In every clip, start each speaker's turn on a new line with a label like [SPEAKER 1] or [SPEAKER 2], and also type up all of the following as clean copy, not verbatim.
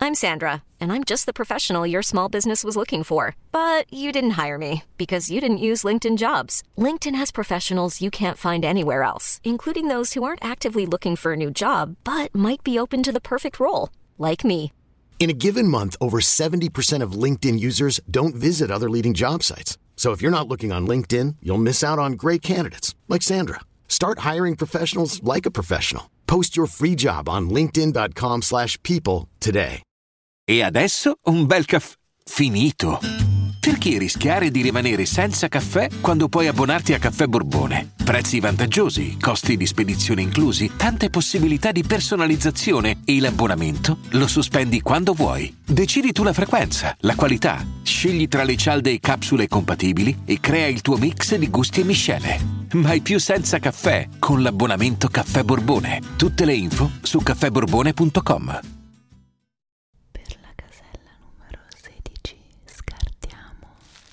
[SPEAKER 1] I'm Sandra, and I'm just the professional your small business was looking for. But you didn't hire me because you didn't use LinkedIn Jobs. LinkedIn has professionals you can't find anywhere else, including those who aren't actively looking for a new job, but might be open to the perfect role, like me.
[SPEAKER 2] In a given month, over 70% of LinkedIn users don't visit other leading job sites. So if you're not looking on LinkedIn, you'll miss out on great candidates like Sandra. Start hiring professionals like a professional. Post your free job on linkedin.com/people today.
[SPEAKER 3] E adesso un bel caffè finito. Perché rischiare di rimanere senza caffè quando puoi abbonarti a Caffè Borbone? Prezzi vantaggiosi, costi di spedizione inclusi, tante possibilità di personalizzazione e l'abbonamento lo sospendi quando vuoi. Decidi tu la frequenza, la qualità, scegli tra le cialde e capsule compatibili e crea il tuo mix di gusti e miscele. Mai più senza caffè con l'abbonamento Caffè Borbone. Tutte le info su caffèborbone.com.
[SPEAKER 4] Per la casella numero 16 scartiamo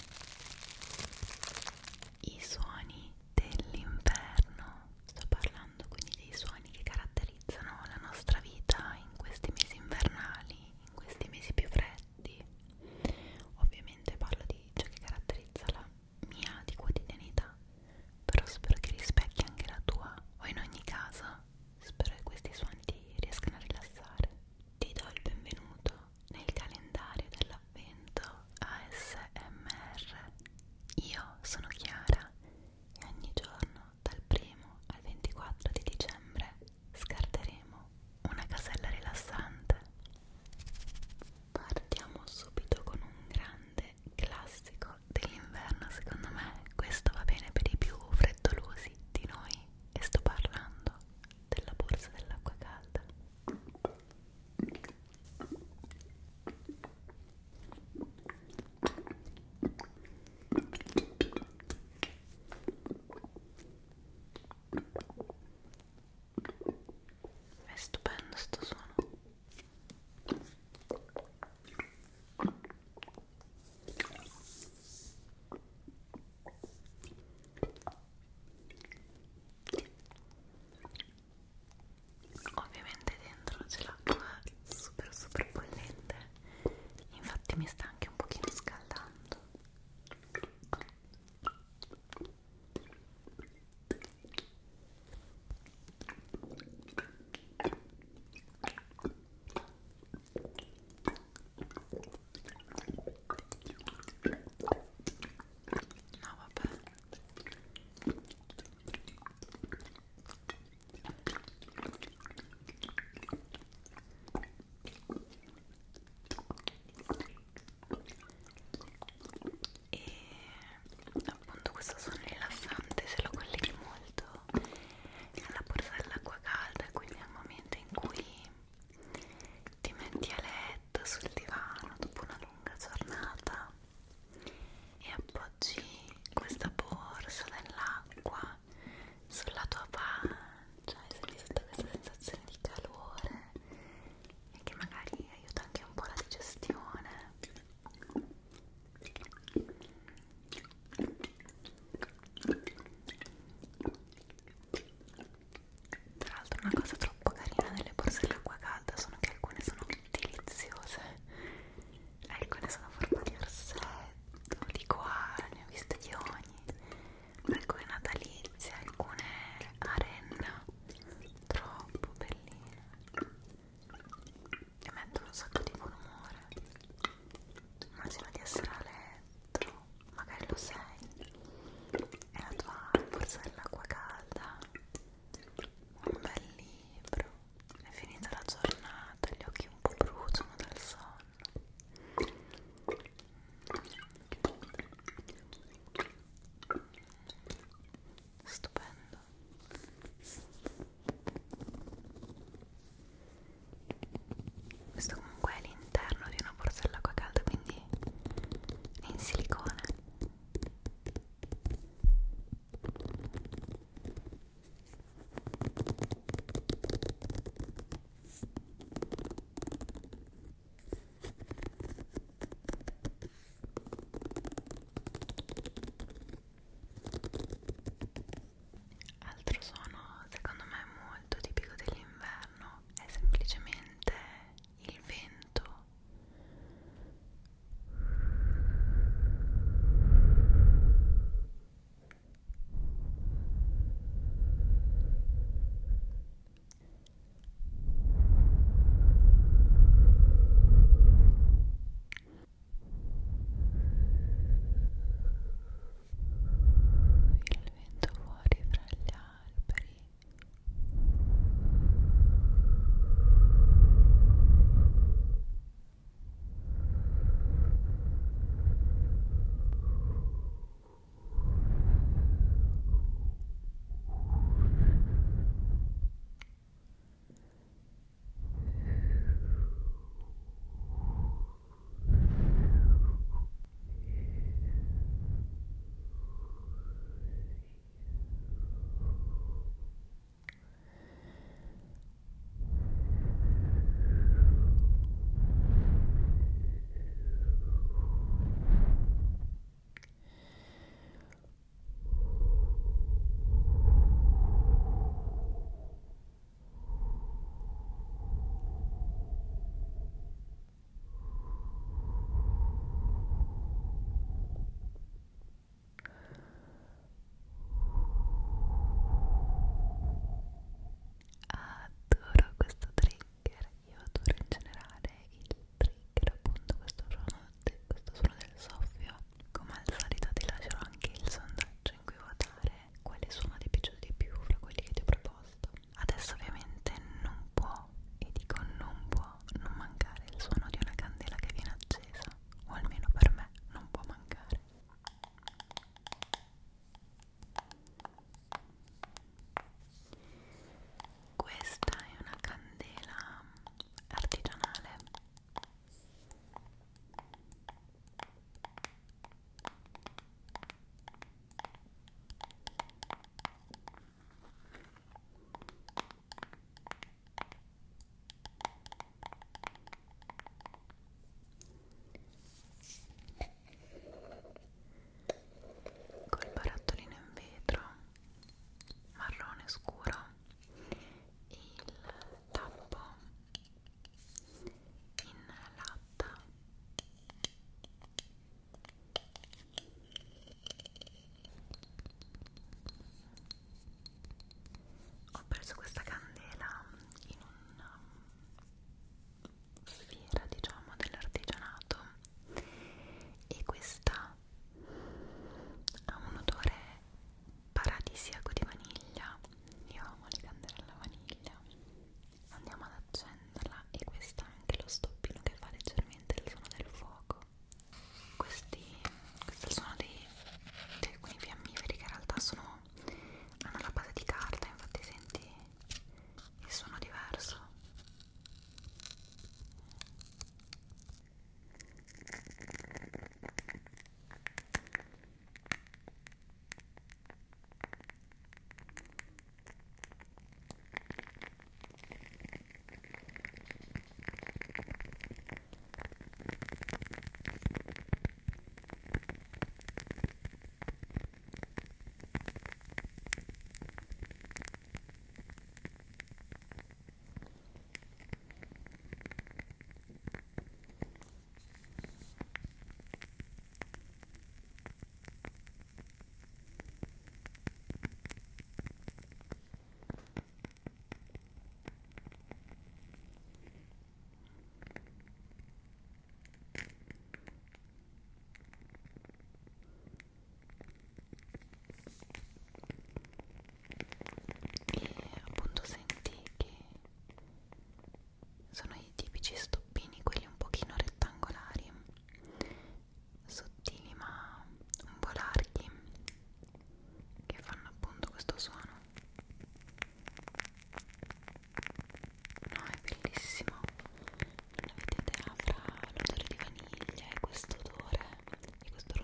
[SPEAKER 4] i suoni dell'inverno. Sto parlando quindi dei suoni che caratterizzano la nostra vita in questi mesi invernali, in questi mesi più freddi. Ovviamente parlo di ciò che caratterizza la mia di quotidianità, però spero che rispecchi anche la tua, o in ogni caso spero che questi suoni ti riescano a rilassare.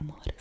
[SPEAKER 4] amore.